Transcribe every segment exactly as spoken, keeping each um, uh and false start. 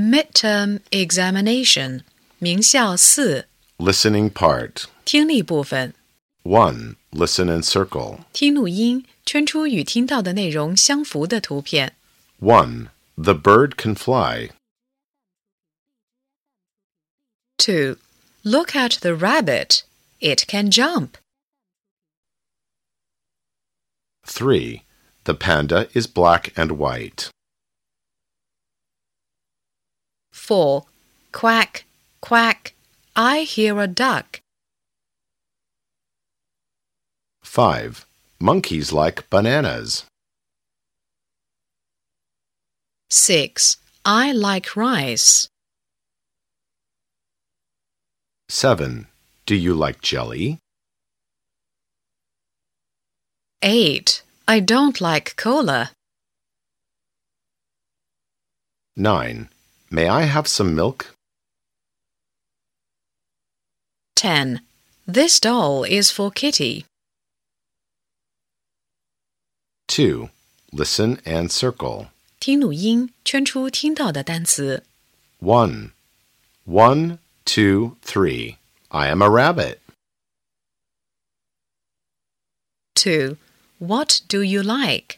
Midterm examination 名校四 Listening part. 听力部分 one. Listen and circle. 听录音，圈出与听到的内容相符的图片。 one. The bird can fly. two. Look at the rabbit. It can jump. three. The panda is black and white. four. Quack, quack. I hear a duck. five. Monkeys like bananas. six. I like rice. seven. Do you like jelly? eight. I don't like cola. nine. May I have some milk? ten. This doll is for Kitty. two. Listen and circle. 听录音，圈出听到的单词。 one. one, two, three. I am a rabbit. two. What do you like?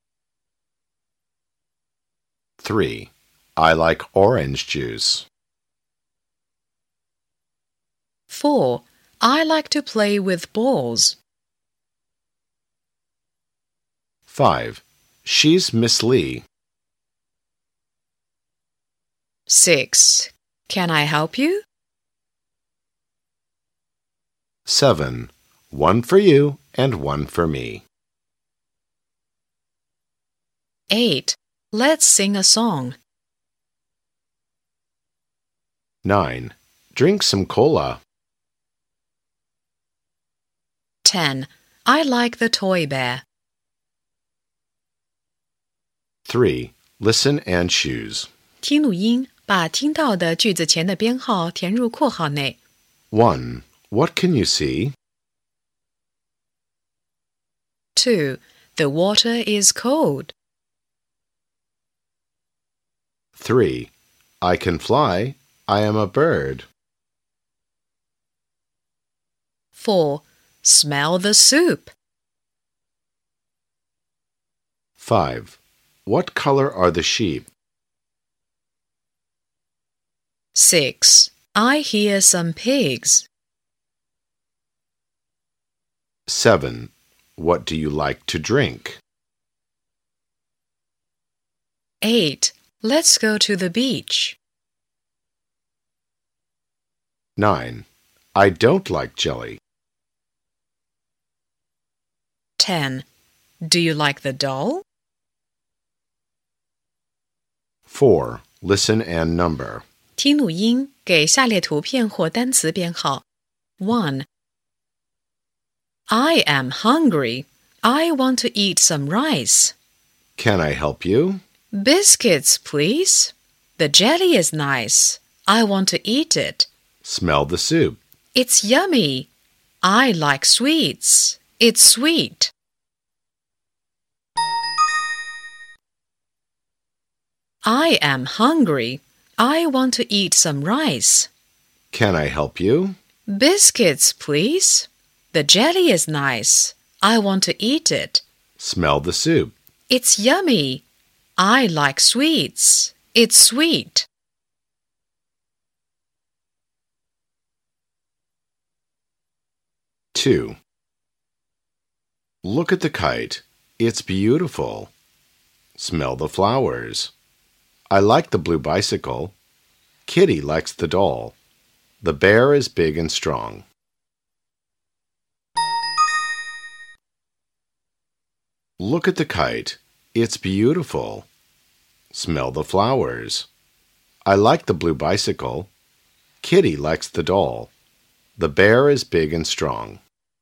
three. I like orange juice. four. I like to play with balls. five. She's Miss Lee. six. Can I help you? seven. One for you and one for me. eight. Let's sing a song. nine. Drink some cola. ten. I like the toy bear. three. Listen and choose. 听录音，把听到的句子前的编号填入括号内。 one. What can you see? two. The water is cold. three. I can fly. I am a bird. four. Smell the soup. five. What color are the sheep? six. I hear some pigs. seven. What do you like to drink? eight. Let's go to the beach. nine. I don't like jelly. ten. Do you like the doll? four. Listen and number. 听录音，给下列图片或单词编号。one. I am hungry. I want to eat some rice. Can I help you? Biscuits, please. The jelly is nice. I want to eat it. Smell the soup. It's yummy. I like sweets. It's sweet. I am hungry. I want to eat some rice. Can I help you? Biscuits, please. The jelly is nice. I want to eat it. Smell the soup. It's yummy. I like sweets. It's sweet. two. Look at the kite. It's beautiful. Smell the flowers. I like the blue bicycle. Kitty likes the doll. The bear is big and strong. Look at the kite. It's beautiful. Smell the flowers. I like the blue bicycle. Kitty likes the doll. The bear is big and strong.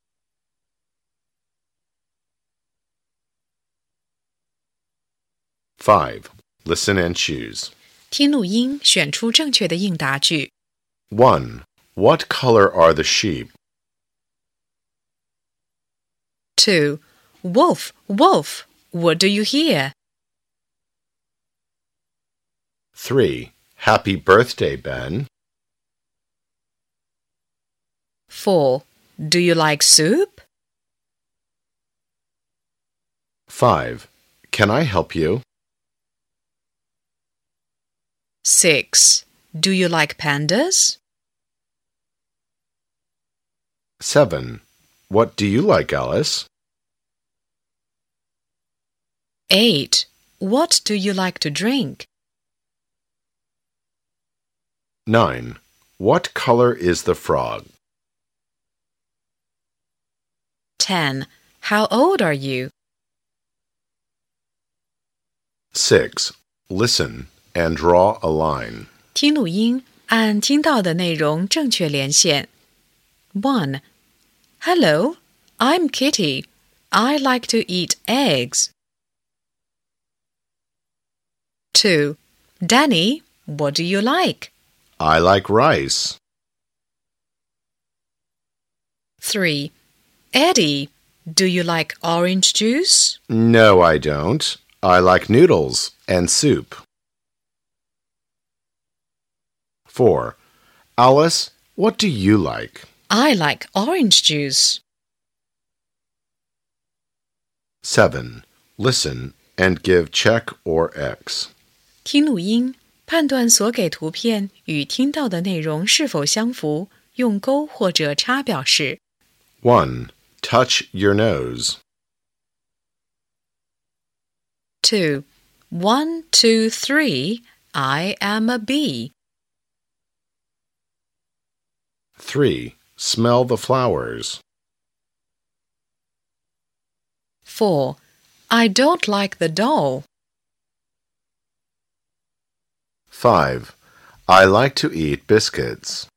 five. Listen and choose. 听录音，选出正确的应答句。 one. What color are the sheep? two. Wolf, wolf, what do you hear? three. Happy birthday, Ben. four. Do you like soup? five. Can I help you? six. Do you like pandas? seven. What do you like, Alice? eight. What do you like to drink? nine. What color is the frog? ten. How old are you? six. Listen and draw a line. 听录音，按听到的内容正确连线。one. Hello, I'm Kitty. I like to eat eggs. two. Danny, what do you like? I like rice. three. Eddie, do you like orange juice? No, I don't. I like noodles and soup. four. Alice, what do you like? I like orange juice. seven. Listen and give check or X. 听录音，判断所给图片与听到的内容是否相符，用勾或者叉表示。 one. Touch your nose. two. One, two, three. I am a bee. three. Smell the flowers. four. I don't like the doll. five. I like to eat biscuits.